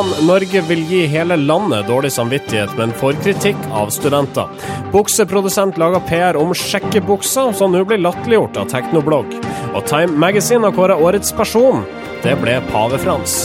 Plan Norge vil gi hele landet dårlig samvittighet, men får kritikk av studenter. Bukseprodusent lager PR om sjekkebukser, som nå blir latterliggjort av Teknoblogg. Og Time Magazine har kåret årets person. Det ble Pave Frans.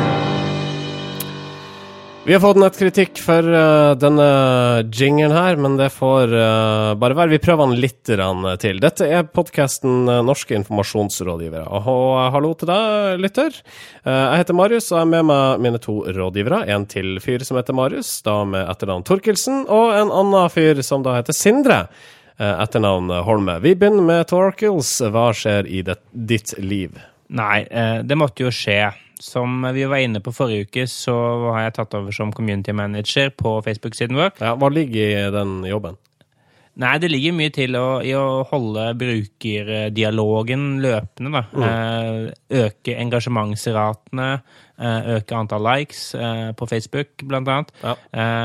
Vi har fått nettkritikk for denne jinglen her, men det får bare være. Vi prøver den litt til. Dette er podcasten Norske informasjonsrådgivere. Og hallo til deg, lytter. Jeg heter Marius, og jeg er med meg mine to rådgivere. En til fyr som heter Marius, da med etternavn Torkelsen, og en annen fyr som da heter Sindre, etternavn Holme. Vi begynner med Torkels. Hva skjer i ditt liv? Nei, det måtte jo skje. Som vi var inne på forrige uke, så har jeg tatt over som community manager på Facebook-siden vår. Ja, hva ligger i den jobben? Nei, det ligger mye til i å holde brukerdialogen løpende, da. Øke engasjementsratene, øke antall likes på Facebook, blant annet. Ja.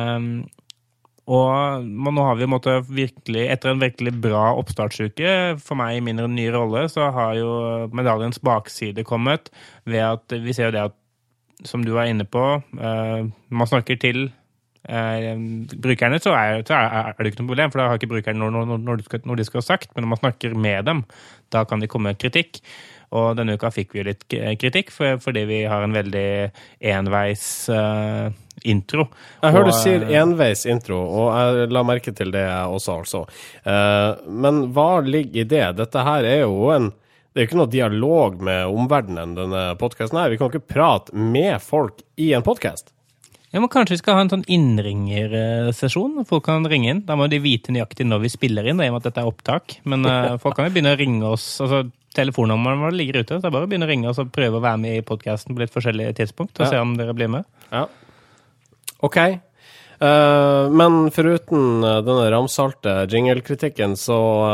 Og nå har vi etter en virkelig bra oppstartsuke, for meg i min nye rolle, så har jo medaljens bakside kommet ved at vi ser jo det at, som du var inne på, man snakker til brukerne, så er det ikke noe problem, for da har ikke brukerne når de skal ha sagt, men når man snakker med dem, da kan de komme med kritikk. Og denne uka fikk vi jo litt kritikk, fordi vi har en veldig enveis intro. Jeg hører du sier enveis intro, og jeg la merke til det også, altså. Men hva ligger i det? Dette her er jo det er jo ikke noe dialog med omverdenen, denne podcasten her. Vi kan ikke prate med folk i en podcast. Ja, men kanskje vi skal ha en sånn innringersesjon. Folk kan ringe inn. Da må de vite nøyaktig når vi spiller inn, i og med at dette er opptak. Men folk kan jo begynne å ringe oss, altså telefonnummeren vår ligger ute, så det er bare å begynne å ringe oss og prøve å være med i podcasten på litt forskjellige tidspunkt, og se om dere blir med. Ja. Ok. Men foruten denne ramsalte jingle-kritikken, så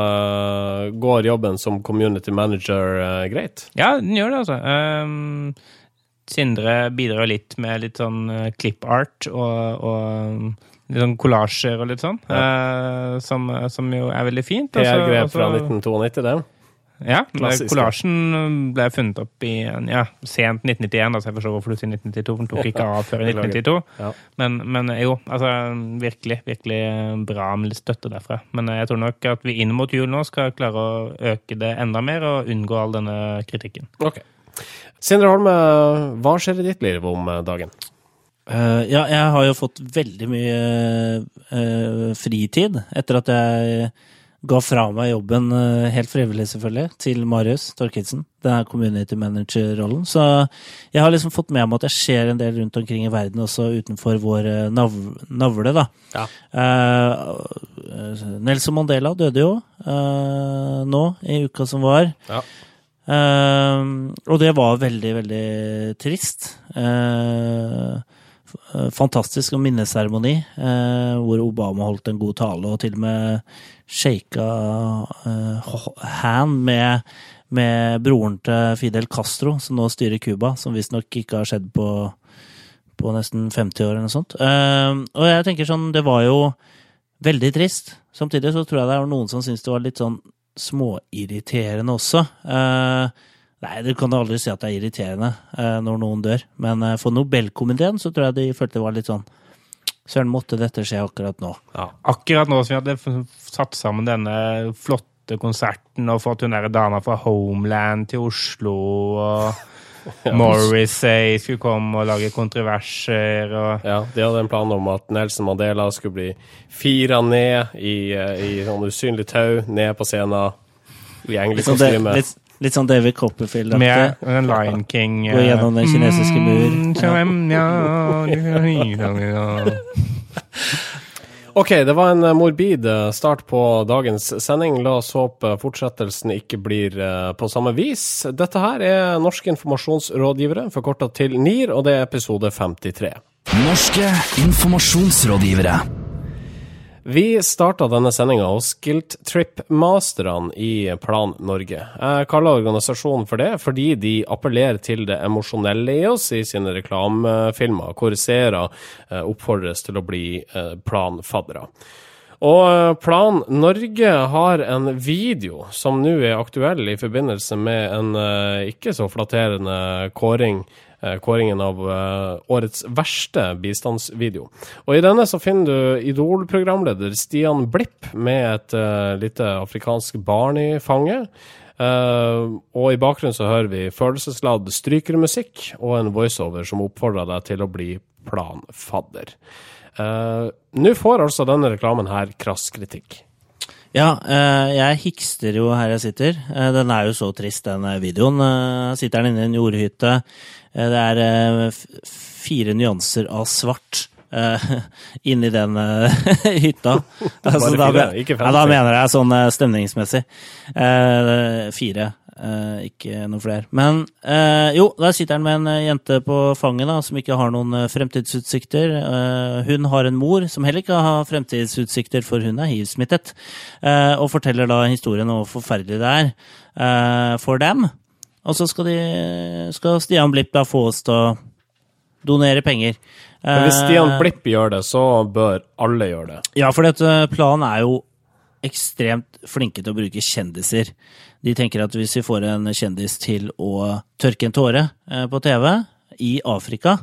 går jobben som community manager greit? Ja, den gjør det, altså. Sindre bidrar litt med litt sånn clip-art og litt sånn kollasjer og litt sånn, som jo er veldig fint. Det er grep fra 1992, det. Ja, kollasjen ble funnet opp i sent 1991, så jeg forstår hvorfor du sier 1992, for den tok ikke av før i 1992. Ja. Men jo, altså virkelig, virkelig bra med litt støtte derfra. Men jeg tror nok at vi inn mot jul nå skal klare å øke det enda mer og unngå all denne kritikken. Ok. Sindre Holme, hva skjer i ditt liv om dagen? Ja, jeg har jo fått veldig mye fritid etter at jeg ga fra meg jobben helt frivillig selvfølgelig til Marius Torkelsen, denne community manager-rollen. Så jeg har liksom fått med meg at det skjer en del rundt omkring i verden også utenfor vår navle da. Ja. Nelson Mandela døde jo nå i uka som var. Ja. Og det var veldig, veldig trist. Fantastisk minneseremoni hvor Obama holdt en god tale og til og med shaka hand med broren til Fidel Castro som nå styrer Cuba, som visst nok ikke har skjedd på nesten 50 år eller noe sånt. Og jeg tenker sånn, det var jo veldig trist. Samtidig så tror jeg det er noen som synes det var litt sånn småirriterende også. Nei, du kan aldri si at det er irriterende når noen dør. Men for Nobelkomiteen så tror jeg de følte det var litt sånn Søren, måtte dette skje akkurat nå? Ja. Akkurat nå som vi hadde satt sammen denne flotte konserten og fått hun der dama fra Homeland til Oslo og Morrissey skulle komme og lage kontroverser og... Ja, de hadde en plan om at Nelson Mandela skulle bli firet ned i sånn usynlig tau, ned på scenen i engelsk kostyme. Litt sånn David Copperfield. Med en Lion King. Gå gjennom den kinesiske mur. Ok, det var en morbid start på dagens sending. La oss håpe fortsettelsen ikke blir på samme vis. Dette her er Norske informasjonsrådgivere, forkortet til NIR, og det er episode 53. Norske informasjonsrådgivere. Vi startet denne sendingen hos Guilt Trip-masterne i Plan Norge. Jeg kaller organisasjonen for det, fordi de appellerer til det emosjonelle i oss i sine reklamefilmer, hvor seere oppfordres til å bli planfaddere. Og Plan Norge har en video som nå er aktuell i forbindelse med en ikke så flatterende kåring kåringen av årets verste bistandsvideo. Og i denne så finner du Idol-programleder Stian Blipp med et lite afrikansk barn i fanget. Og i bakgrunnen så hører vi følelsesladd strykermusikk og en voiceover som oppfordrer deg til å bli planfadder. Nå får altså denne reklamen her krass kritikk. Ja, jeg hikster jo her jeg sitter. Den jo så trist, den videoen. Sitter den inne i en jordhytte. Det 4 nyanser av svart inni den hytta. Altså, da mener jeg sånn stemningsmessig. 4. Ikke noen flere. Men jo, der sitter han med en jente på fanget da, som ikke har noen fremtidsutsikter. Hun har en mor som heller ikke har fremtidsutsikter, for hun HIV-smittet. Og forteller da historien om hvor forferdelig det for dem. Og så skal Stian Blipp da få oss til å donere penger. Men hvis Stian Blipp gjør det, så bør alle gjøre det. Ja, for planen jo ekstremt flinke til å bruke kjendiser. De tenker at hvis vi får en kjendis til å tørke en tåre på TV i Afrika,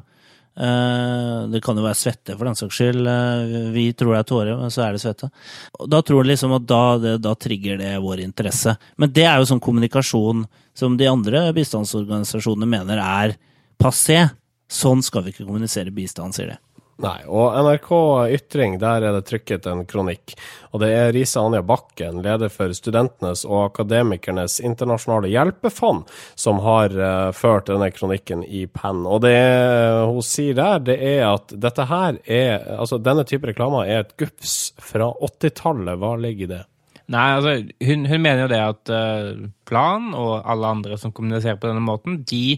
det kan jo være svette for den saks skyld, vi tror det tåre, men så det svette. Da tror de liksom at da trigger det vår interesse. Men det jo sånn kommunikasjon som de andre bistandsorganisasjonene mener passé. Sånn skal vi ikke kommunisere bistand, sier det. Nei, og NRK Ytring, der det trykket en kronikk. Og det Risa Anja Bakken, leder for studentenes og akademikernes internasjonale hjelpefond, som har ført denne kronikken i penn. Og det hun sier der, det at dette her altså denne type reklame et gufs fra 80-tallet. Hva ligger i det? Nei, altså, hun mener jo det at Plan og alle andre som kommuniserer på denne måten,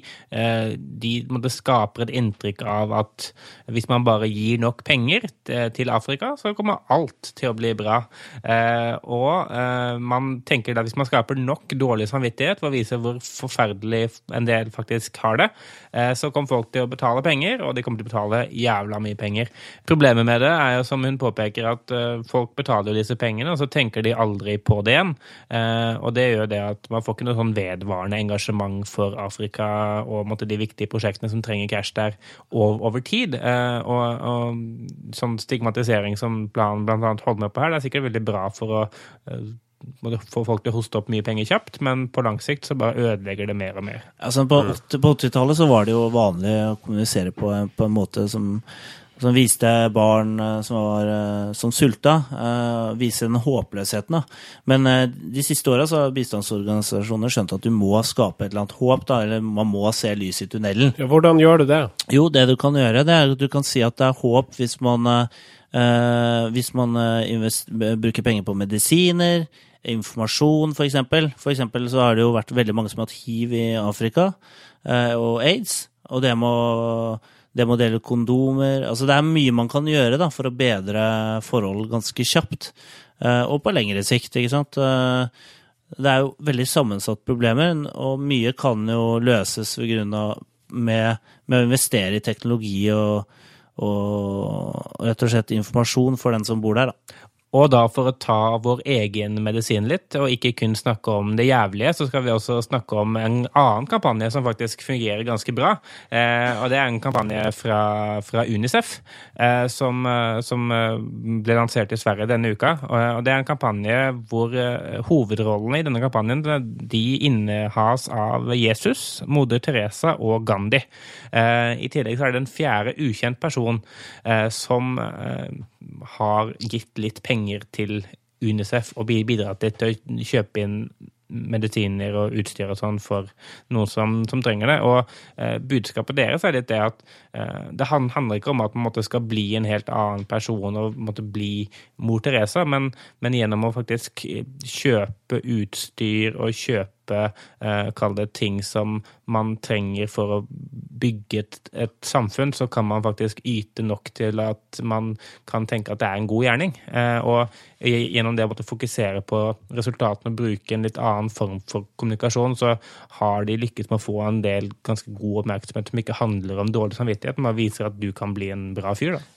de måtte skape et inntrykk av at hvis man bare gir nok penger til Afrika, så kommer alt til å bli bra. Og man tenker da hvis man skaper nok dårlig samvittighet for å vise hvor forferdelig en del faktisk har det, så kommer folk til å betale penger, og de kommer til å betale jævla mye penger. Problemet med det jo, som hun påpeker, at folk betaler jo disse pengene, og så tenker de aldri på det igjen. Og det gjør det at man får ikke noe sånn vedvarende engasjement for Afrika og de viktige prosjektene som trenger cash der over tid. Og sånn stigmatisering som Plan blant annet holder med på her, det sikkert veldig bra for å få folk til å hoste opp mye penger kjapt, men på lang sikt så bare ødelegger det mer og mer. Altså på 80-tallet så var det jo vanlig å kommunisere på en måte som viste barn som sulta, vise den håpløsheten. Men de siste årene så har bistandsorganisasjoner skjønt at du må skape et eller annet håp, eller man må se lys i tunnelen. Ja, hvordan gjør du det? Jo, det du kan gjøre, det at du kan si at det håp hvis man bruker penger på medisiner, informasjon for eksempel. For eksempel så har det jo vært veldig mange som har hatt HIV i Afrika, og AIDS, og det må dele kondomer. Altså det mye man kan gjøre da, for å bedre forhold ganske kjapt. Og på lengre sikt, ikke sant? Det jo veldig sammensatt problemer, og mye kan jo løses ved grunn av med å investere i teknologi og rett og slett informasjon for den som bor der da. Og da for å ta vår egen medisin litt, og ikke kun snakke om det jævlige, så skal vi også snakke om en annen kampanje som faktisk fungerer ganske bra. Og det en kampanje fra UNICEF, som ble lansert i Sverige denne uka. Og det en kampanje hvor hovedrollene i denne kampanjen, de innehas av Jesus, Moder Teresa og Gandhi. I tillegg så det en fjerde ukjent person som har gitt litt penger til UNICEF og bidratt til å kjøpe inn medisiner og utstyr og sånn for noen som trenger det. Og budskapet deres litt det at det handler ikke om at man skal bli en helt annen person og måtte bli Mor Teresa, men gjennom å faktisk kjøpe utstyr og kjøpe kall det ting som man trenger for å bygge et samfunn, så kan man faktisk yte nok til at man kan tenke at det en god gjerning. Og gjennom det å måtte fokusere på resultatene og bruke en litt annen form for kommunikasjon, så har de lykkes med å få en del ganske god oppmerksomhet som ikke handler om dårlig samvittighet, men viser at du kan bli en bra fyr da.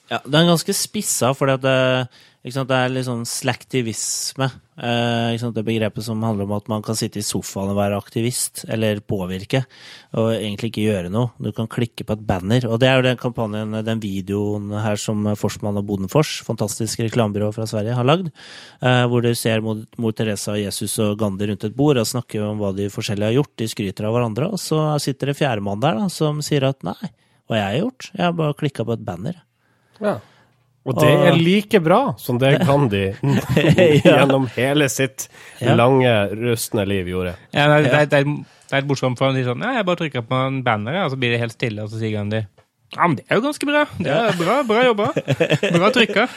Ja, det ganske spissa, fordi at det litt sånn slaktivisme. Ikke sant? Det begrepet som handler om at man kan sitte i sofaen og være aktivist, eller påvirke, og egentlig ikke gjøre noe. Du kan klikke på et banner, og det jo den kampanjen, den videoen her som Forsman og Bodenfors, fantastisk reklamebyrå fra Sverige, har lagd, hvor du ser mor Teresa, Jesus og Gandhi rundt et bord og snakker om hva de forskjellige har gjort, de skryter av hverandre, og så sitter det fjerdemann der da, som sier at nei, hva jeg har gjort? Jeg har bare klikket på et banner. Ja. Og det like bra som det Gandhi gjennom hele sitt lange, rustne liv gjorde. Ja, det et morsomt for han sier sånn, ja, jeg bare trykker på en banner, og så blir det helt stille, og så sier Gandhi, ja, men det jo ganske bra. Det bra jobba. Bra trykka.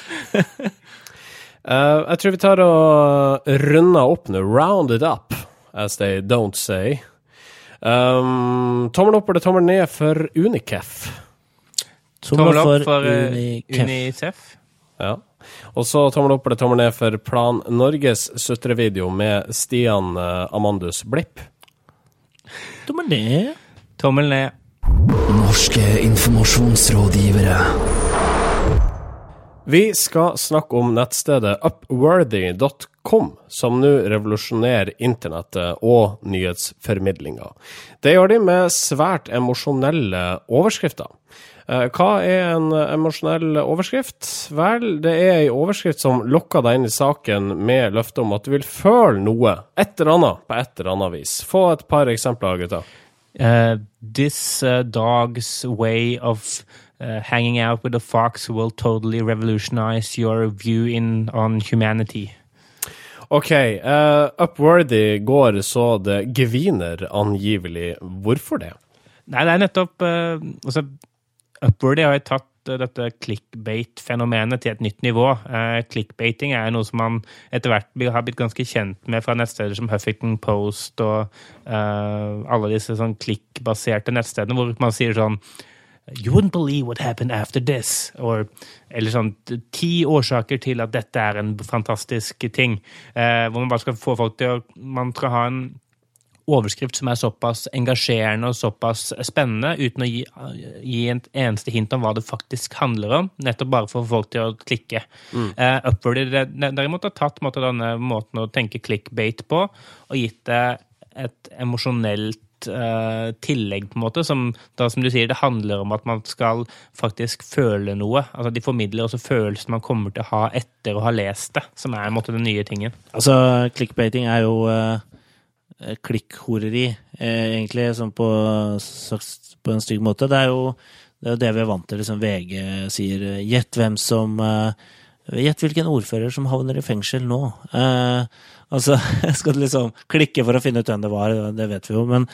Jeg tror vi tar og runder opp nå. Round it up, as they don't say. Tommel opp eller tommel ned for Unicef? Tommel opp for Unicef. Ja. Og så tommel opp eller tommel ned for Plan Norges sutrevideo med Stian Amandus Blipp. Tommel ned. Tommel ned. Norske informasjonsrådgivere. Vi skal snakke om nettstedet upworthy.com, som nå revolusjonerer internettet og nyhetsformidlinger. Det gjør de med svært emosjonelle overskrifter. Hva en emosjonell overskrift? Vel, det en overskrift som lokker deg inn i saken med løfte om at du vil føle noe, et eller annet, på et eller annet vis. Få et par eksempler, gutta. This dog's way of hanging out with a fox will totally revolutionize your view on humanity. Ok, Upworthy går så det geviner angivelig. Hvorfor det? Nei, det nettopp Upworthy har jo tatt dette clickbait-fenomenet til et nytt nivå. Clickbaiting noe som man etter hvert har blitt ganske kjent med fra nettsteder som Huffington Post og alle disse sånn klikkbaserte nettstedene, hvor man sier sånn You wouldn't believe what happened after this. Eller sånn 10 årsaker til at dette en fantastisk ting. Hvor man bare skal få folk til man skal ha en overskrift som såpass engasjerende og såpass spennende, uten å gi en eneste hint om hva det faktisk handler om, nettopp bare for å få folk til å klikke. Upworthy derimot har tatt denne måten å tenke clickbait på, og gitt det et emosjonelt tillegg på en måte, som du sier, det handler om at man skal faktisk føle noe. Altså de formidler også følelsen man kommer til å ha etter å ha lest det, som en måte den nye tingen. Altså, clickbaiting jo klikkhoreri, egentlig, som på en stygg måte. Det jo det vi vant til, liksom VG sier, gjett hvilken ordfører som havner i fengsel nå. Altså, skal du liksom klikke for å finne ut hvem det var, det vet vi jo, men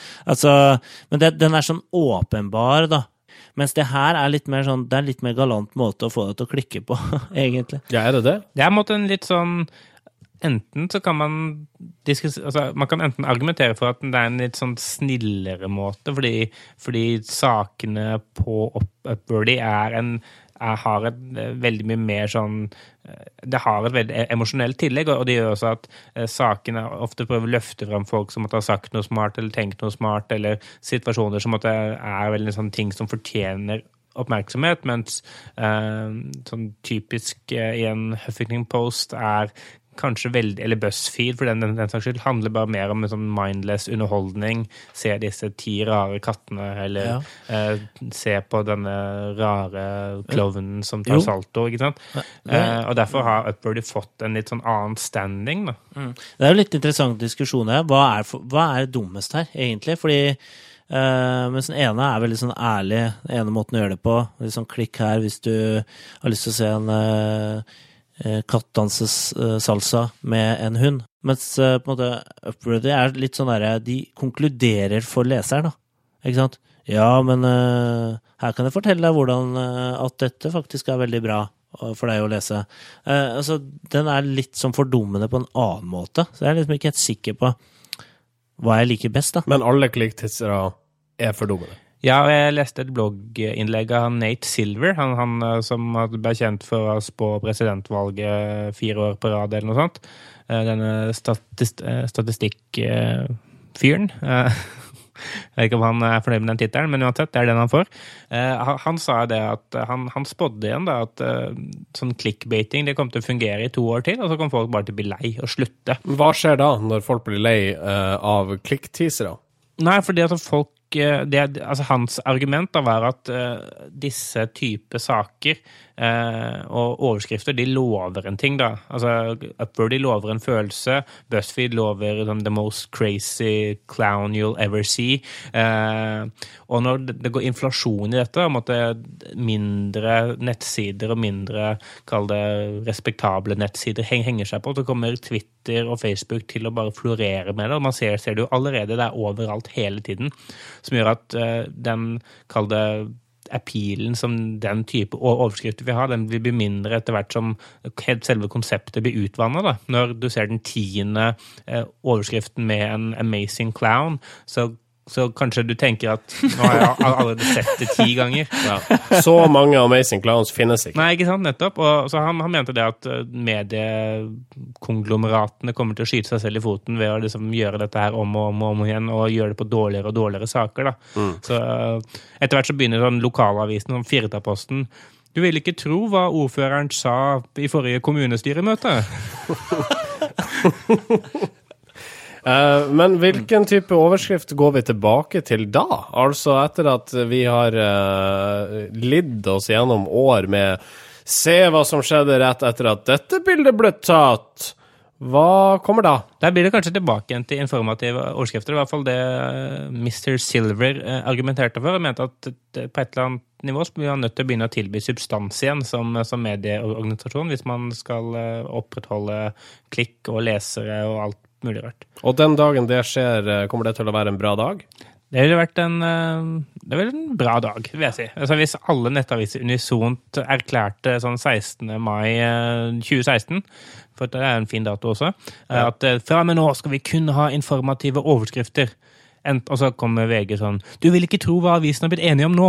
den sånn åpenbar, da. Mens det her litt mer sånn, det litt mer galant måte å få det til å klikke på, egentlig. Ja, det det? Det måte en litt sånn enten så kan man man kan enten argumentere for at det en litt sånn snillere måte, fordi sakene på Upworthy har et veldig mye mer sånn det har et veldig emosjonelt tillegg, og det gjør også at sakene ofte prøver å løfte frem folk som måtte ha sagt noe smart eller tenkt noe smart, eller situasjoner som måtte veldig sånn ting som fortjener oppmerksomhet, mens sånn typisk i en Huffington Post kanskje veldig, eller BuzzFeed, for den saks skyld, handler bare mer om en sånn mindless underholdning, se disse 10 rare kattene, eller se på denne rare klovnen som tar salto, ikke sant? Og derfor har Upworthy fått en litt sånn annen standing, da. Det jo litt interessant diskusjon her. Hva dummest her, egentlig? Fordi mens den ene veldig sånn ærlig, den ene måten å gjøre det på, litt sånn klikk her hvis du har lyst til å se en kattdanses salsa med en hund. Mens på en måte Upworthy litt sånn der, de konkluderer for leseren, da. Ikke sant? Ja, men her kan jeg fortelle deg hvordan at dette faktisk veldig bra for deg å lese. Altså, den litt sånn fordummende på en annen måte, så jeg liksom ikke helt sikker på hva jeg liker best, da. Men alle klikktitsere fordummende. Ja, og jeg leste et blogginnlegg av Nate Silver, han som ble kjent for å spå presidentvalget 4 år på rad eller noe sånt. Denne statistikkfyren. Jeg vet ikke om han fornøyd med den titelen, men uansett, det den han får. Han sa det at han spådde igjen da, at sånn clickbaiting, det kommer til å fungere i 2 år til, og så kommer folk bare til å bli lei og slutte. Hva skjer da, når folk blir lei av klikkteasere? Nei, fordi at folk hans argument da var at disse type saker og overskrifter, de lover en ting da. Altså, Upward de lover en følelse, BuzzFeed lover the most crazy clown you'll ever see. Og når det går inflasjon i dette, måtte mindre nettsider og mindre, kall det respektable nettsider, henger seg på, så kommer Twitter og Facebook til å bare florere med det, og man ser det jo allerede der overalt hele tiden, som gjør at den, kall det appealen som den type overskrifter vi har, den vil bli mindre etter hvert som selve konseptet blir utvannet da. Når du ser den 10. overskriften med en amazing clown, så kanskje du tenker at nå har jeg allerede sett det 10 ganger. Ja. Så mange amazing clowns finnes ikke. Nei, ikke sant, nettopp. Og så han mente det at mediekonglomeratene kommer til å skyte seg selv i foten ved å liksom gjøre dette her om og om igjen, og gjøre det på dårligere og dårligere saker. Da. Så etter hvert så begynner sånn lokalavisen, som Firdaposten. Du vil ikke tro hva ordføreren sa i forrige kommunestyremøte. Men hvilken type overskrift går vi tilbake til da? Altså etter at vi har lidd oss gjennom år med se hva som skjedde rett etter at dette bildet ble tatt. Hva kommer da? Der blir det kanskje tilbake igjen til informative overskrifter. I hvert fall det Mr. Silver argumenterte for. Han mente at på et eller annet nivå så blir han nødt til å begynne å tilby substans igjen som medieorganisasjon hvis man skal opprettholde klikk og lesere og alt mulig rart. Og den dagen det skjer, kommer det til å være en bra dag? Det ville vært en bra dag, vil jeg si. Altså, hvis alle nettaviser unisont erklærte sånn 16. mai 2016, for det en fin dato også, at fra og med nå skal vi kun ha informative overskrifter. Og så kommer VG sånn, du vil ikke tro hva avisen har blitt enige om nå.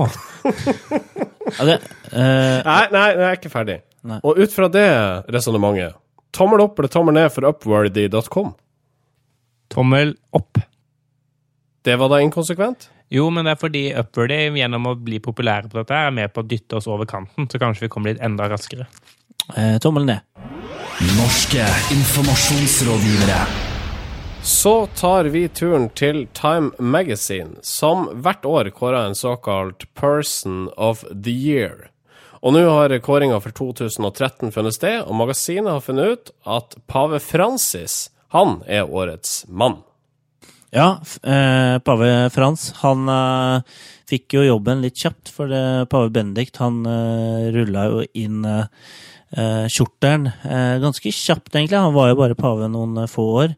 Nei, jeg er ikke ferdig. Nei. Og ut fra det resonemanget, tommel opp eller tommel ned for upworthy.com? Tommel opp. Det var da inkonsekvent? Jo, men det fordi Upworthy, gjennom å bli populære på dette, med på å dytte oss over kanten, så kanskje vi kommer litt enda raskere. Tommel ned. Norske informasjonsrådgivere. Så tar vi turen til Time Magazine, som hvert år kårer en såkalt Person of the Year. Og nå har kåringen for 2013 funnet sted, og magasinet har funnet ut at Pave Francis, han er årets mann. Ja, Pave Frans, han fikk jo jobben litt kjapt, for Pave Benedikt, han rullet jo inn kjortelen ganske kjapt egentlig. Han var jo bare pave noen få år.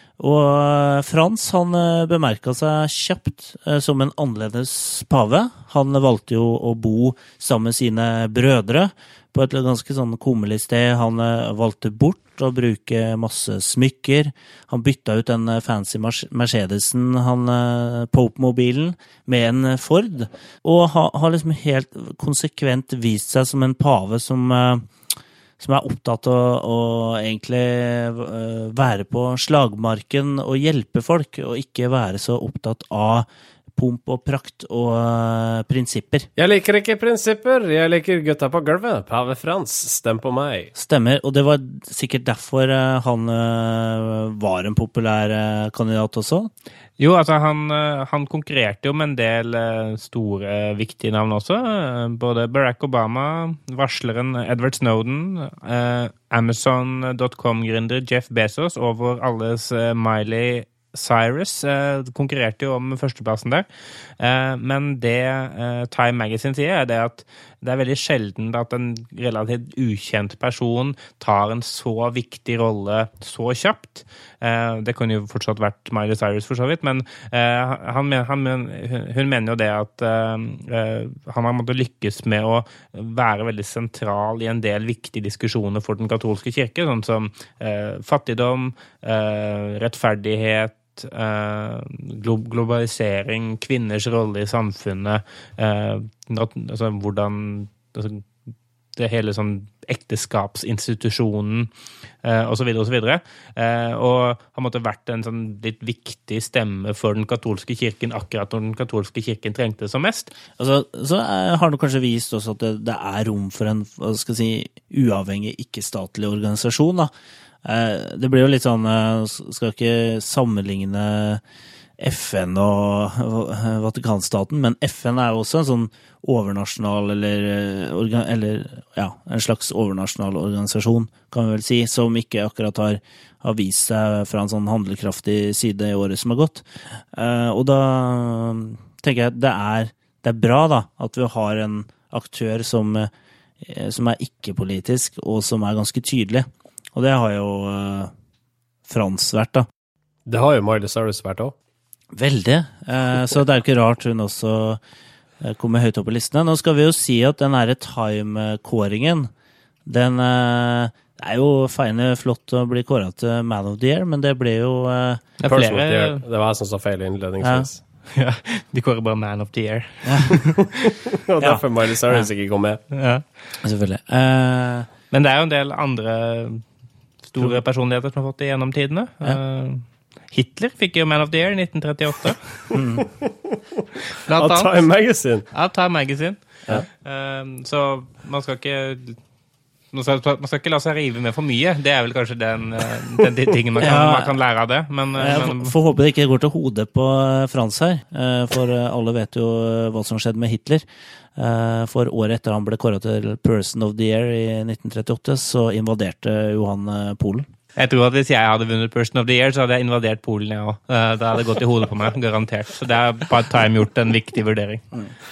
Og Frans, han bemerket seg kjapt som en annerledes pave. Han valgte jo å bo sammen med sine brødre på et ganske sånn kummerlig sted. Han valgte bort å bruke masse smykker. Han bytta ut den fancy Mercedesen, Pope-mobilen, med en Ford. Og har liksom helt konsekvent vist seg som en pave som er opptatt av å egentlig være på slagmarken og hjelpe folk, og ikke være så opptatt av pomp og prakt og prinsipper. Jeg liker ikke prinsipper, jeg liker gutta på gulvet. Pave Frans, stem på meg. Stemmer, og det var sikkert derfor han var en populær kandidat også. Jo, altså han konkurrerte jo med en del store, viktige navn også. Både Barack Obama, varsleren Edward Snowden, Amazon.com-gründer Jeff Bezos og vår alles Miley Cyrus konkurrerte jo om førsteplassen der. Men det Time Magazine sier det at det er veldig sjelden at en relativt ukjent person tar en så viktig rolle så kjapt. Det kunne jo fortsatt vært Miley Cyrus for så vidt, men hun mener jo det at han har måttet lykkes med å være veldig sentral i en del viktige diskusjoner for den katolske kirke, sånn som fattigdom, rettferdighet, globalisering, kvinners rolle i samfunnet, hvordan det hele sånn ekteskapsinstitusjonen og så videre og så videre. Og har måttet vært en sånn litt viktig stemme for den katolske kirken akkurat når den katolske kirken trengte det som mest. Altså, så har det kanskje vist også at det rom for en, hva skal jeg si, uavhengig, ikke-statlig organisasjon, da. Det blir jo litt sånn, skal ikke sammenligne FN og Vatikanstaten, men FN jo også en sånn overnasjonal eller ja, en slags overnasjonal organisasjon, kan vi vel si, som ikke akkurat har vist seg fra en sånn handlekraftig side i året som har gått. Og da tenker jeg at det er bra da, at vi har en aktør som ikke-politisk, og som ganske tydelig. Og det har jo Frans vært da. Det har jo Miley Cyrus vært også. Veldig. Så det jo ikke rart hun også kommer høyt opp på listene. Nå skal vi jo si at den her Time-kåringen, den jo feine flott å bli kåret til Man of the Year, men det ble jo... Det var jeg som sa feil innledningsvis. Ja, de kårer bare Man of the Year. Og derfor Miley Cyrus ikke kom med. Ja, selvfølgelig. Men det jo en del andre store personligheter som har fått det gjennom tidene. Hitler fikk jo Man of the Year i 1938. Av Time Magazine. Av Time Magazine. Ja. Så man skal ikke la seg rive med for mye. Det vel kanskje den tingen man kan lære av det. Men får håpe det ikke går til hodet på Frans her. For alle vet jo hva som skjedde med Hitler. For året etter han ble kåret til Person of the Year i 1938, så invaderte jo han Polen. Jeg tror at hvis jeg hadde vunnet Person of the Year, så hadde jeg invadert Polen, jeg også. Da hadde det gått i hodet på meg, garantert. Så det bare Time gjort en viktig vurdering.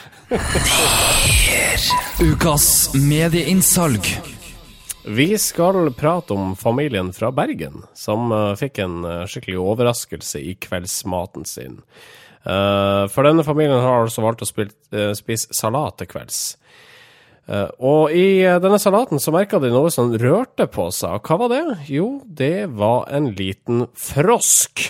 Ukas medieinnsalg. Vi skal prate om familien fra Bergen, som fikk en skikkelig overraskelse i kveldsmaten sin. For denne familien har altså valgt å spise salat til kvelds. Og i denne salaten så merket de noe som rørte på seg. Hva var det? Jo, det var en liten frosk.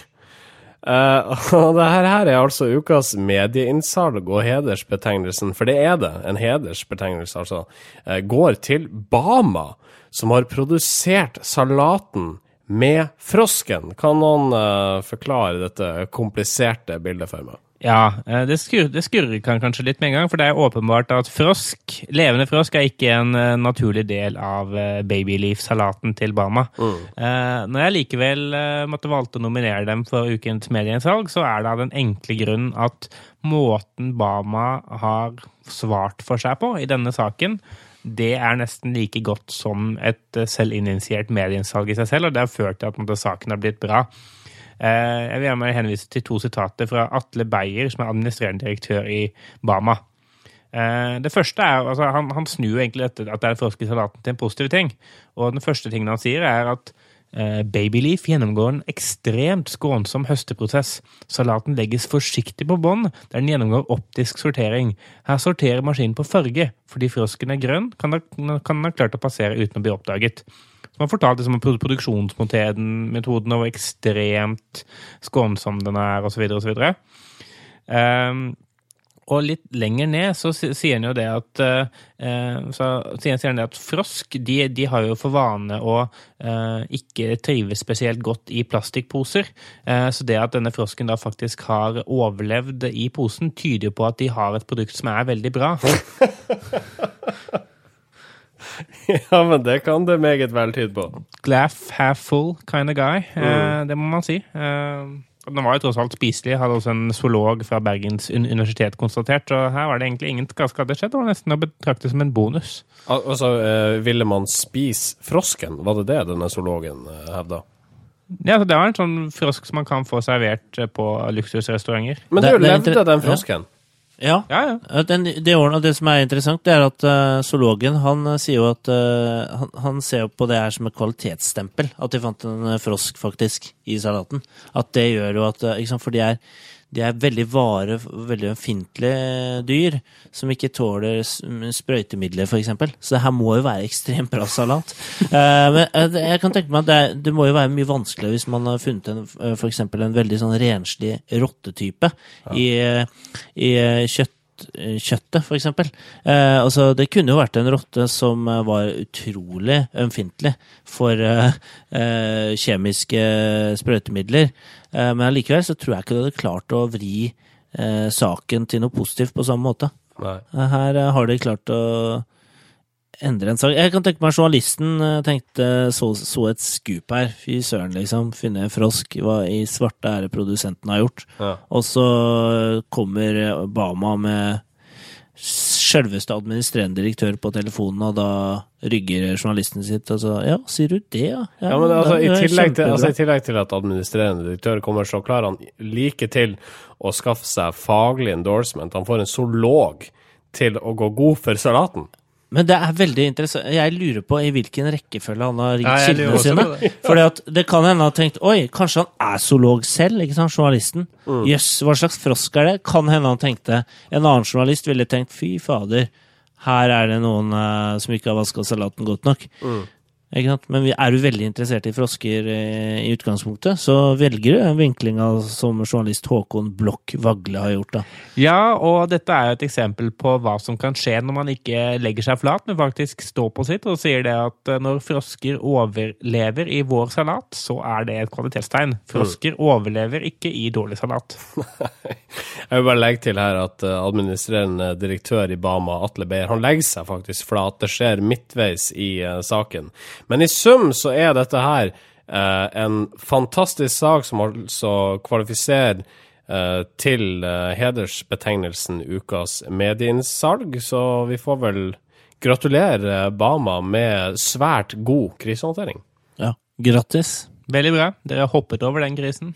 Og det her altså ukas medieinnsalg og hedersbetegnelsen, for det det, en hedersbetegnelse altså, går til Bama, som har produsert salaten med frosken. Kan noen forklare dette kompliserte bildet for meg? Ja, det skurrer kanskje litt med en gang, for det åpenbart at levende frosk ikke en naturlig del av babyleaf-salaten til Bama. Når jeg likevel måtte valgte å nominere dem for ukens medieinnsalg, så det av den enkle grunn at måten Bama har svart for seg på i denne saken, det nesten like godt som et selvinitiert medieinnsalg i seg selv, og det har ført til at saken har blitt bra. Jeg vil gjerne henvise til 2 sitater fra Atle Beyer, som administrerende direktør i Bama. Det første altså, han snur jo egentlig dette, at det frosk i salaten til en positiv ting. Og den første tingen han sier at Babyleaf gjennomgår en ekstremt skånsom høsteprosess. Salaten legges forsiktig på bånd, der den gjennomgår optisk sortering. Her sorterer maskinen på farge. Fordi frosken grønn, kan den ha klart å passere uten å bli oppdaget. Man fortalte om produksjonsmetoden og hvor ekstremt skånsom den og så videre, og så videre. Og litt lenger ned så sier han jo det at sier han det at frosk, de har jo for vane å ikke trives spesielt godt i plastikkposer. Så det at denne frosken da faktisk har overlevd i posen, tyder jo på at de har et produkt som veldig bra. Ja, men det kan det meget vel tyde på. Glass half full kind of guy, det må man si. Den var jo tross alt spiselig, hadde også en zoolog fra Bergens universitet konstatert, og her var det egentlig ingen skade skjedd, det var nesten å betrakte som en bonus. Altså, ville man spise frosken? Var det denne zoologen hevda? Ja, det var en sånn frosk som man kan få servert på luksusrestauranter. Men du levde den frosken? Ja. Det som interessant, det at zoologen, han sier jo at han ser på det her som et kvalitetsstempel, at de fant en frosk faktisk i salaten. At det gjør jo at, ikke sant, for de veldig veldig ømfintlige dyr, som ikke tåler sprøytemidler, for eksempel. Så det her må jo være ekstremt bra salat. Men jeg kan tenke meg at det må jo være mye vanskeligere hvis man har funnet for eksempel en veldig sånn renslig rottetype i kjøttet, for eksempel. Altså, det kunne jo vært en rotte som var utrolig ømfintlig for kjemiske sprøytemidler, men allikevel så tror jeg ikke du hadde klart å vri saken til noe positivt på samme måte. Nei. Her har de klart å endre en sak. Jeg kan tenke meg journalisten tenkte så et skup her. Fy søren, liksom. Finne en frosk. Hva i svarte er det produsenten har gjort? Ja. Og så kommer Obama med selveste administrerende direktør på telefonen, og da rygger journalisten sitt, og så, ja, sier du det, ja? Ja, men i tillegg til at administrerende direktør kommer, så klarer han like til å skaffe seg faglig endorsement. Han får en zoolog til å gå god for salaten. Men det er veldig interessant. Jeg lurer på i hvilken rekkefølge han har ringt kildene sine. Fordi at det kan hende han har tenkt, oi, kanskje han er zoolog selv, ikke sant, journalisten? Jøss, hva slags frosk er det? Kan hende han tenkte, en annen journalist ville tenkt, fy fader, her er det noen som ikke har vasket salaten godt nok. Ikke sant? Men er du veldig interessert i frosker i utgangspunktet, så velger du en vinkling som journalist Håkon Blokk Vagle har gjort da. Ja, og dette er jo et eksempel på hva som kan skje når man ikke legger seg flat, men faktisk står på sitt og sier det at når frosker overlever i vår salat, så er det et kvalitetstegn. Frosker overlever ikke i dårlig salat. Jeg vil bare legge til her at administrerende direktør i Bama, Atle Beyer, han legger seg faktisk flat. Det skjer midtveis i saken. Men i sum så er dette her en fantastisk sak som altså kvalifiserer til hedersbetegnelsen ukas medieinnsalg, så vi får vel gratulere Bama med svært god krisehåndtering. Ja, grattis. Veldig bra. Dere har hoppet over den krisen.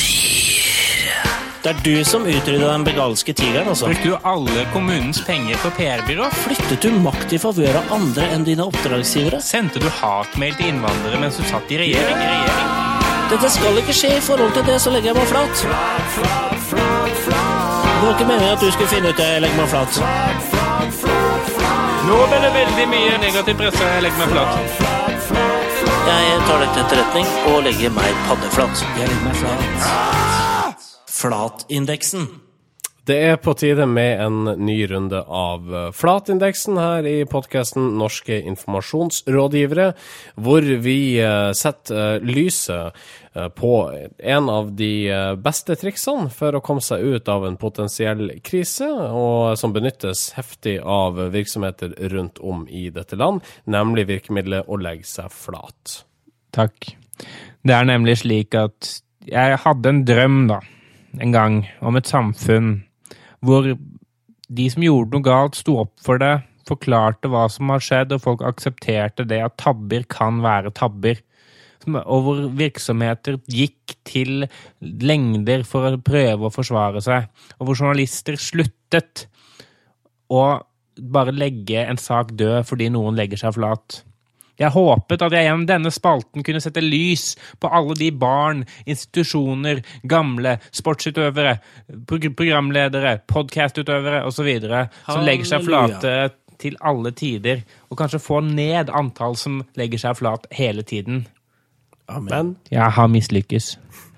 Det er du som utryddet den begalske tigeren, altså. Brukte du alle kommunens penger på PR-byrå? Flyttet du makt i favør av andre enn dine oppdragsgivere? Sendte du hatmail til innvandrere mens du satt i regjering? Dette skal ikke skje i forhold til det, så legger jeg meg flat. Det var ikke meningen at du skulle finne ut det, jeg legger meg flat. Nå ble det veldig mye negativ presse, jeg legger meg flat. Jeg tar det til etterretning og legger meg paddeflat. Jeg legger meg flat. Flatindeksen. Det er på tide med en ny runde av Flatindeksen her i podcasten Norske informasjonsrådgivere, hvor vi setter lyset på en av de beste triksene for å komme seg ut av en potensiell krise, og som benyttes heftig av virksomheter rundt om i dette land, nemlig virkemidlet å legge seg flat. Takk. Det er nemlig slik at jeg hadde en drøm en gang om et samfunn hvor de som gjorde noe galt sto opp for det, forklarte hva som har skjedd, og folk aksepterte det at tabber kan være tabber. Og hvor virksomheter gikk til lengder for å prøve å forsvare seg, og hvor journalister sluttet å bare legge en sak død fordi noen legger seg flat. Jeg håpet at jeg gjennom denne spalten kunne sette lys på alle de barn, institusjoner, gamle, sportsutøvere, programledere, podcastutøvere og så videre, som legger seg flate til alle tider, og kanskje få ned antall som legger seg flat hele tiden. Amen. Jeg har mislykkes.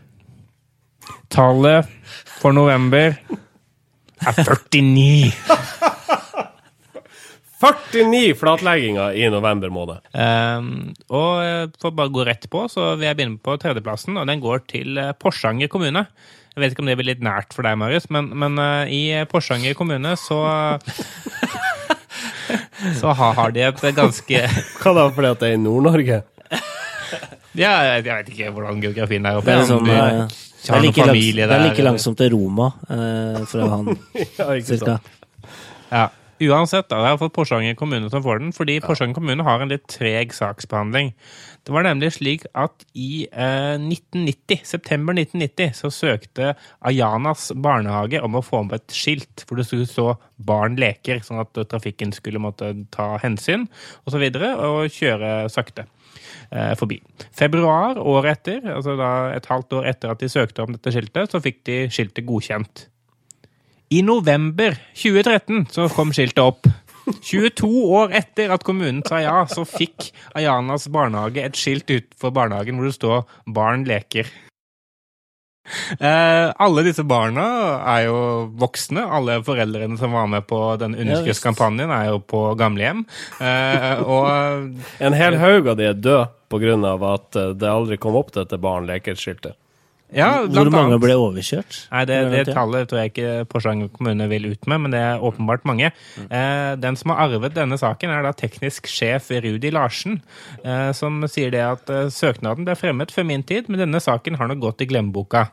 Tallet for november er 49. 49 flatlegginger i november måned. Og for bare gå rett på, så vil jeg begynne på tredjeplassen, og den går til Porsanger kommune. Jeg vet ikke om det blir litt nært for deg, Marius, men i Porsanger kommune så har de et ganske... Hva da, fordi at det er i Nord-Norge? Ja, jeg vet ikke hvordan geografien er oppe. Det er like langsomt til Roma, fra han, cirka. Ja. Uansett, da, jeg har fått Porsanger kommune som får den, fordi Porsanger kommune har en litt treg saksbehandling. Det var nemlig slik at i september 1990, så søkte Ayanas barnehage om å få med et skilt, hvor det skulle stå barn leker, sånn at trafikken skulle måtte ta hensyn, og så videre, og kjøre sakte forbi. Februar, året etter, altså da et halvt år etter at de søkte om dette skiltet, så fikk de skiltet godkjent. I november 2013 så kom skiltet opp. 22 år etter at kommunen sa ja, så fikk Ayanas barnehage et skilt ut for barnehagen hvor det står «Barn leker». Alle disse barna er jo voksne. Alle foreldrene som var med på den underskriftskampanjen er jo på gamlehjem. Og en hel haug av de er død på grunn av at det aldri kom opp dette barn-leker-skiltet. Ja, hvor mange ble overkjørt? Nei, det tallet tror jeg ikke Porsanger kommune vil ut med, men det er åpenbart mange. Den som har arvet denne saken er da teknisk sjef Rudi Larsen, som sier det at søknaden ble fremmet før min tid, men denne saken har nå gått i glemmeboka.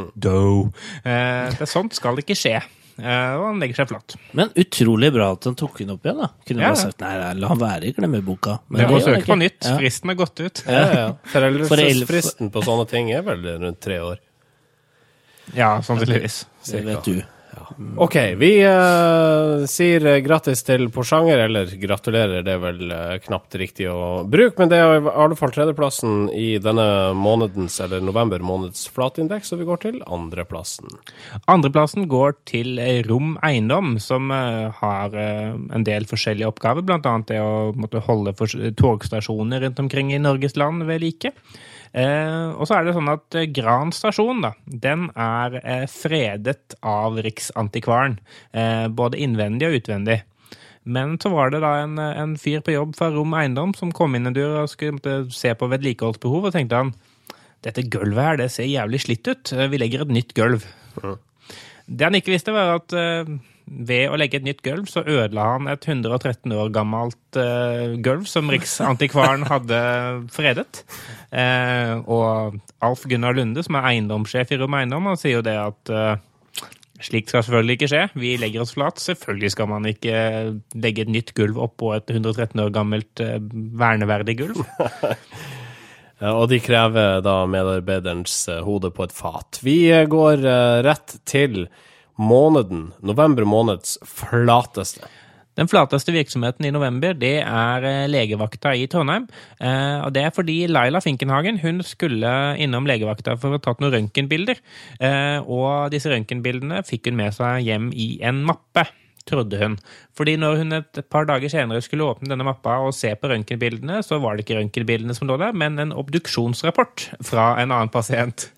Det sånt skal ikke skje. Og han legger seg flatt. Men utrolig bra at han tok den opp igjen da. Kunne bare sagt, nei, la han være i glemmeboka. Men det må søke på nytt. Fristen er gått ut. Foreldrelsesfristen på sånne ting er vel rundt 3 år. Ja, sannsynligvis. Det vet du. Ok, vi sier grattis til Porsanger, eller gratulerer, det er vel knapt riktig å bruke, men det er i alle fall tredjeplassen i denne månedens, eller november måneds flatindeks, så vi går til andreplassen. Andreplassen går til Rom Eiendom, som har en del forskjellige oppgaver, blant annet det å måtte holde togstasjoner rundt omkring i Norges land ved like. Og så er det sånn at Gran stasjon da, den er fredet av Riksantikvaren, både innvendig og utvendig. Men så var det da en fyr på jobb fra Rom Eiendom som kom inn en dør og skulle se på vedlikeholdsbehov, og tenkte han, dette gulvet her, det ser jævlig slitt ut, vi legger et nytt gulv. Det han ikke visste var at ved å legge et nytt gulv, så ødela han et 113 år gammelt gulv som Riksantikvaren hadde fredet. Og Alf Gunnar Lunde, som er eiendomssjef i Rom Eiendom, han sier jo det at slikt skal selvfølgelig ikke skje. Vi legger oss flat. Selvfølgelig skal man ikke legge et nytt gulv opp på et 113 år gammelt verneverdig gulv. Og de krever da medarbeiderens hode på et fat. Vi går rett til november måneds flateste. Den flateste virksomheten i november, det er legevakta i Trondheim. Og det er fordi Laila Finkenhagen, hun skulle innom legevakta for å ta noen røntgenbilder. Og disse røntgenbildene fikk hun med seg hjem i en mappe, trodde hun. Fordi når hun et par dager senere skulle åpne denne mappa og se på røntgenbildene, så var det ikke røntgenbildene som lå der, men en obduksjonsrapport fra en annen pasient.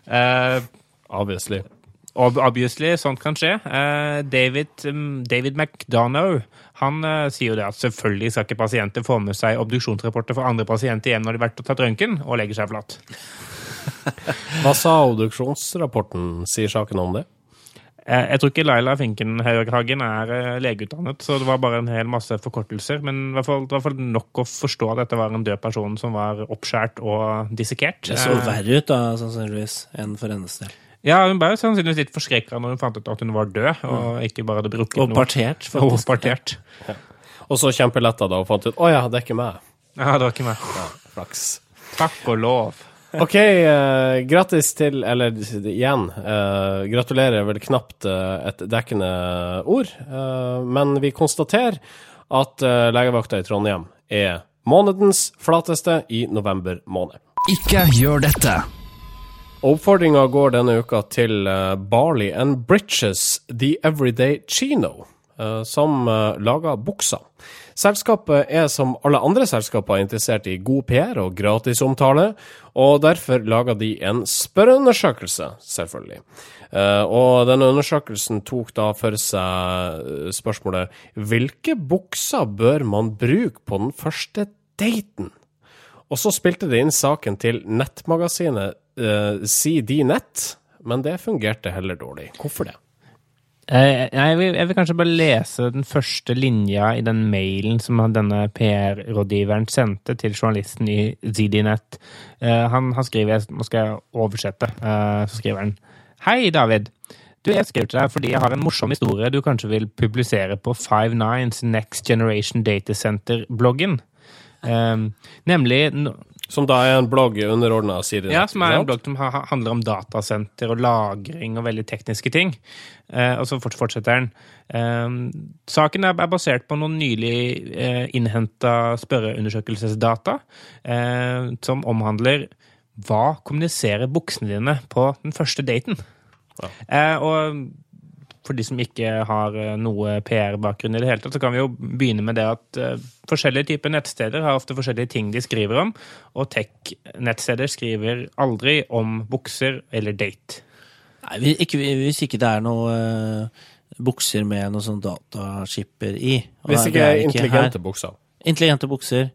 Obviously, sånt kan skje. David McDonough, han sier jo det at selvfølgelig skal ikke pasienter få med seg obduksjonsrapporter for andre pasienter hjem når de har vært og tatt røntgen, og legger seg flatt. Hva sa obduksjonsrapporten? Sier saken om det? Jeg tror ikke Laila Finkenhagen er legeutdannet, så det var bare en hel masse forkortelser, men i hvert fall nok å forstå at dette var en død person som var oppskjært og dissekert. Det så verre ut da, sannsynligvis, enn for hennes del. Ja, hun ble sannsynligvis litt forskrekket når hun fant ut at hun var død, og ikke bare hadde brukket noe. Og partert, faktisk. Og partert. Ja. Og så kjempeletta da, og fant ut, ja, det er ikke meg. Ja, det var ikke meg. Ja, flaks. Takk og lov. Ok, grattis til, eller igjen, gratulerer vel knapt et dekkende ord, men vi konstaterer at legevakta i Trondheim er månedens flateste i november måned. Ikke gjør dette! Oppfordringen går denne uka til Barley and Britches The Everyday Chino, som lager bukser. Selskapet er som alle andre selskaper interessert i god PR og gratis omtale, og derfor lager de en spørreundersøkelse, selvfølgelig. Og denne undersøkelsen tok da for seg spørsmålet, hvilke bukser bør man bruke på den første daten? Og så spilte de inn saken til nettmagasinet CDNet, men det fungerte heller dårlig. Hvorfor det? Jeg vil kanskje bare lese den første linja i den mailen som denne PR-rådgiveren sendte til journalisten i ZDNet. Han skriver, nå skal jeg oversette, så skriver han: Hei David, jeg skrev til deg fordi jeg har en morsom historie du kanskje vil publisere på Five9's Next Generation Data Center-bloggen. Nemlig som da er en blogg underordnet CDNet. Ja, som er en blogg som handler om datasenter og lagring og veldig tekniske ting. Og så fortsetter den. Saken er basert på noen nylig innhentet spørreundersøkelsesdata som omhandler hva kommuniserer buksene dine på den første daten. Ja. Og for de som ikke har noe PR-bakgrunn i det hele tatt, så kan vi jo begynne med det at forskjellige typer nettsteder har ofte forskjellige ting de skriver om, og tech-nettsteder skriver aldri om bukser eller date. Nei, hvis ikke det noe bukser med noe sånn dataskipper I. Hvis ikke intelligente bukser. Intelligente bukser.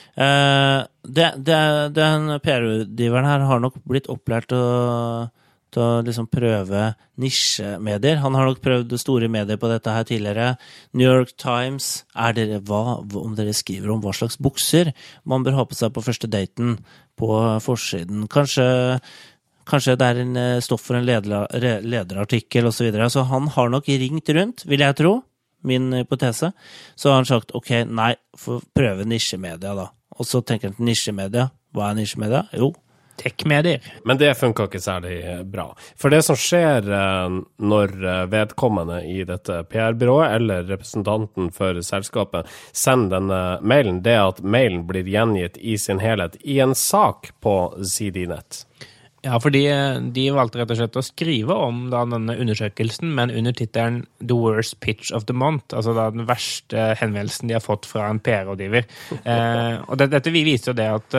Den PR-rådgiveren her har nok blitt opplært til å liksom prøve nisjemedier. Han har nok prøvd store medier på dette her tidligere. New York Times, om dere skriver om hva slags bukser man bør ha på seg på første daten på forsiden. Kanskje det en stoff for en lederartikkel og så videre. Så han har nok ringt rundt, vil jeg tro, min hypotese. Så har han sagt, ok, nei, prøve nisjemedia da. Og så tenker han til nisjemedia. Hva nisjemedia? Jo, tech-medier. Men det funker ikke særlig bra. For det som skjer når vedkommende I dette PR-byrået eller representanten for selskapet sender denne mailen, det at mailen blir gjengitt I sin helhet I en sak på ZDNet. Ja, fordi de valgte rett og slett å skrive om da, denne undersøkelsen, men under titelen The Worst Pitch of the Month, altså da, den verste henvendelsen de har fått fra en PR-rådgiver. Og dette viser jo det at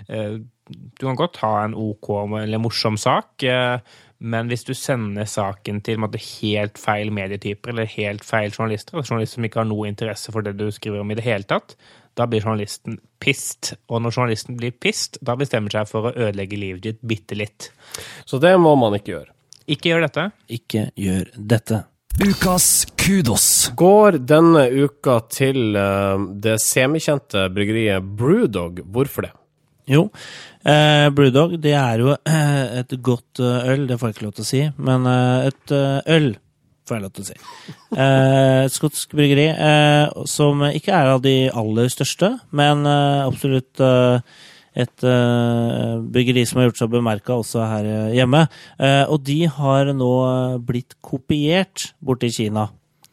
du kan godt ha en OK eller morsom sak, men hvis du sender saken til en måte, helt feil medietyper eller helt feil journalister, eller journalister som ikke har noe interesse for det du skriver om I det hele tatt, da blir journalisten pissed. Og når journalisten blir pissed, da bestemmer seg for å ødelegge livet ditt bitte litt. Så det må man ikke gjøre. Ikke gjør dette. Ikke gjør dette. Ukas kudos. Går denne uka til det semikjente bryggeriet Brewdog. Hvorfor det? Jo, Brewdog, det jo et godt øl, det får jeg ikke lov til å si, men et øl får jeg lov til å si. Et skotsk bryggeri som ikke av de aller største, men absolutt et bryggeri som har gjort seg bemerket også her hjemme. Og de har nå blitt kopiert bort I Kina.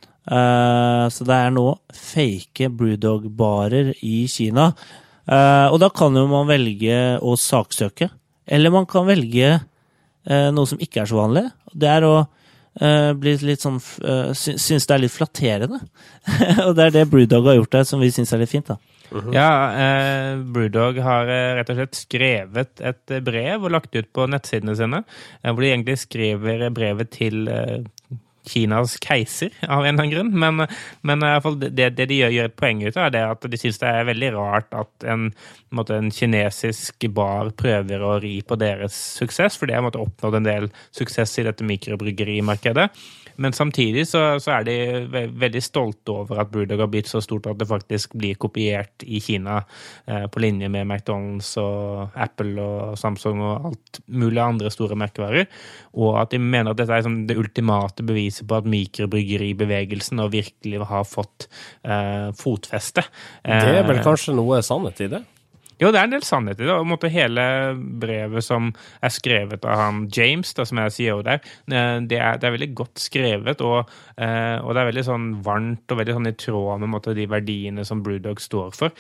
Så det nå fake Brewdog-barer I Kina. Og da kan jo man velge å saksøke, eller man kan velge noe som ikke så vanlig. Det å bli litt sånn, synes det litt flatterende. Og det det Brewdog har gjort der, som vi synes litt fint da. Ja, Brewdog har rett og slett skrevet et brev og lagt ut på nettsidene sine, hvor de egentlig skriver brevet til Kinas keiser av en eller annen grunn, men I hvert fall det de gjør et poeng ut av det at de synes det veldig rart at en kinesisk bar prøver å ri på deres suksess, for det har oppnådd en del suksess I dette mikrobryggerimarkedet. Men samtidig så de veldig stolte over at Brewdog har blitt så stort at det faktisk blir kopiert I Kina på linje med McDonald's og Apple og Samsung og alt mulig andre store merkevarer, og at de mener at dette som det ultimate beviset på at mikrobryggeribevegelsen og virkelig har fått fotfeste. Det vel kanskje noe sannhet I det? Jo, det en del sannhet I det, og hele brevet som skrevet av han James, da, som CEO der, det veldig godt skrevet, og det veldig sånn varmt og veldig sånn I tråd med de verdiene som Brewdog står for.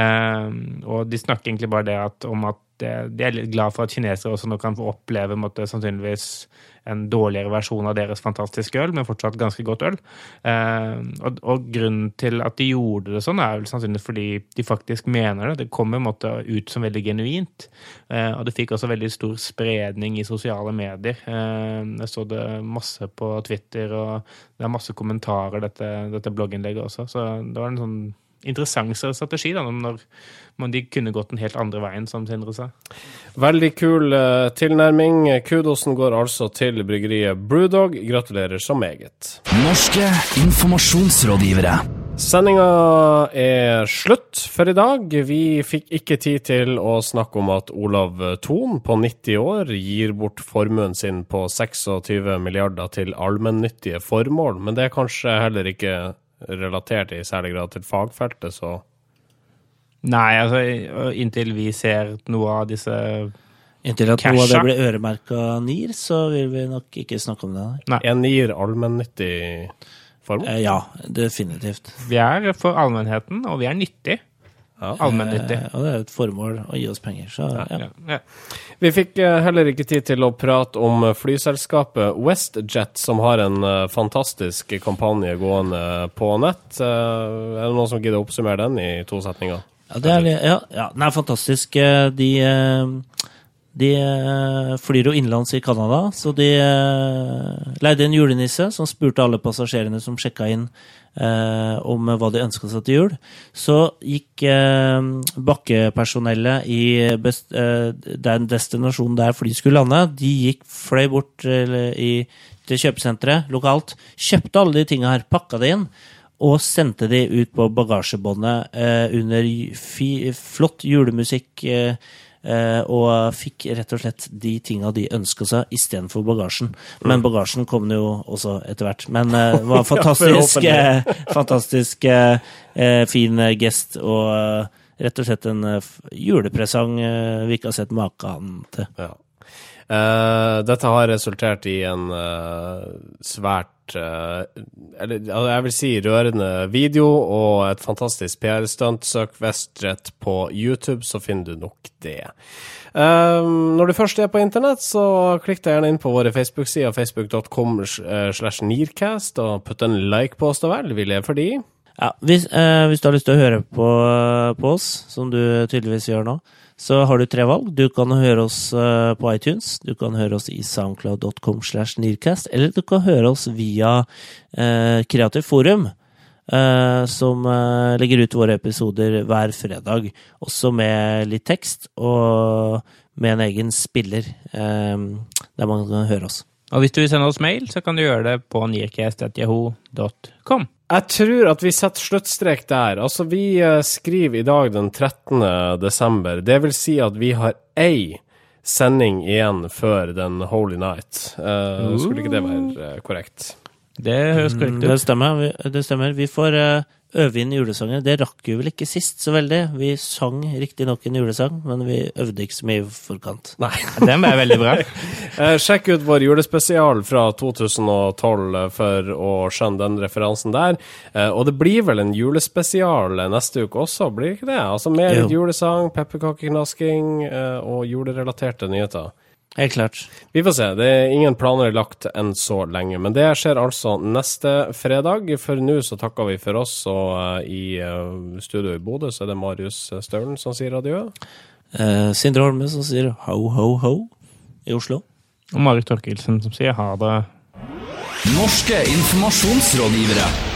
Og de snakker egentlig bare om at de litt glad for at kinesere også nå kan få oppleve sannsynligvis en dårligere versjon av deres fantastiske øl, men fortsatt ganske godt øl. Og grunnen til at de gjorde det sånn vel sannsynligvis fordi de faktisk mener det. Det kommer ut som veldig genuint. Og det fikk også veldig stor spredning I sosiale medier. Jeg så det masse på Twitter, og det masse kommentarer dette blogginnlegget også. Så det var en sånn interessant strategi da, når de kunne gått en helt andre veien, som Sindre sa. Veldig kul tilnærming. Kudosen går altså til bryggeriet Brewdog. Gratulerer så meget. Norske informasjonsrådgivere. Sendingen slutt for I dag. Vi fikk ikke tid til å snakke om at Olav Thon på 90 år gir bort formuen sin på 26 milliarder til allmennyttige formål, men det kanskje heller ikke relatert I særlig grad til fagfeltet, så... Nei, altså, inntil vi ser noe av disse Inntil at noe av det blir øremerket NIR, så vil vi nok ikke snakke om det. Nei. NIR allmennyttig formål? Ja, definitivt. Vi for allmennheten, og vi nyttig. Ja. Allmennyttig. Og det et formål å gi oss penger, så ja. Vi fikk heller ikke tid til å prate om flyselskapet WestJet, som har en fantastisk kampanje gående på nett. Det noen som gidder å oppsummere den I 2 setninger? Ja, den fantastisk. De flyr jo innenlands i Kanada, så de leide en julenisse som spurte alle passasjerene som sjekket inn om hva de ønsket seg til jul. Så gikk bakkepersonellet i den destinasjonen der fly skulle lande. De fløy bort til kjøpesenteret lokalt, kjøpte alle de tingene her, pakket det inn, og sendte de ut på bagasjebåndet under flott julemusikk, og fikk rett og slett de tingene de ønsket seg i stedet for bagasjen. Men bagasjen kom jo også etter hvert. Men det var fantastisk fin gest, og rett og slett en julepresang vi ikke har sett maken til. Ja. Dette har resultert i en svært eller jeg vil si rørende video og et fantastisk PR-stunt. Søk Vestjet på YouTube, så finner du nok det. Når du først på internett, så klikk deg gjerne inn på våre Facebook-sider, facebook.com/Nearcast, og putt en like på oss da vel, vi lever for de. Ja, hvis du har lyst til å høre på oss, som du tydeligvis gjør nå, så har du 3 valg. Du kan høre oss på iTunes, du kan høre oss i soundcloud.com/Nearcast, eller du kan høre oss via Kreativ Forum, som legger ut våre episoder hver fredag, også med litt tekst og med en egen spiller, der man kan høre oss. Og hvis du vil sende oss mail, så kan du gjøre det på nearcast@yahoo.com. Jeg tror at vi setter sluttstrek der. Altså, vi skriver i dag den 13. desember. Det vil si at vi har ei sending igjen før den Holy Night. Skulle ikke det være korrekt? Det høres korrekt ut. Det stemmer. Vi får øve inn julesanger. Det rakk vi vel ikke sist så veldig. Vi sang riktig nok en julesang, men vi øvde ikke så mye i forkant. Nei. Den ble veldig bra. Sjekk ut vår julespesial fra 2012 for å skjønne den referansen der. Og det blir vel en julespesial neste uke også, blir det ikke det? Altså mer julesang, pepperkakeknasking og julerelaterte nyheter. Helt klart. Vi får se. Det ingen planer lagt enn så lenge, men det skjer altså neste fredag. For nå så takker vi for oss, og i studio i Bodø så det Marius Stølen som sier adjø. Sindre Holme som sier ho, ho, ho i Oslo. Og Marit Torkelsen som sier ha det. Norske informasjonsrådgivere.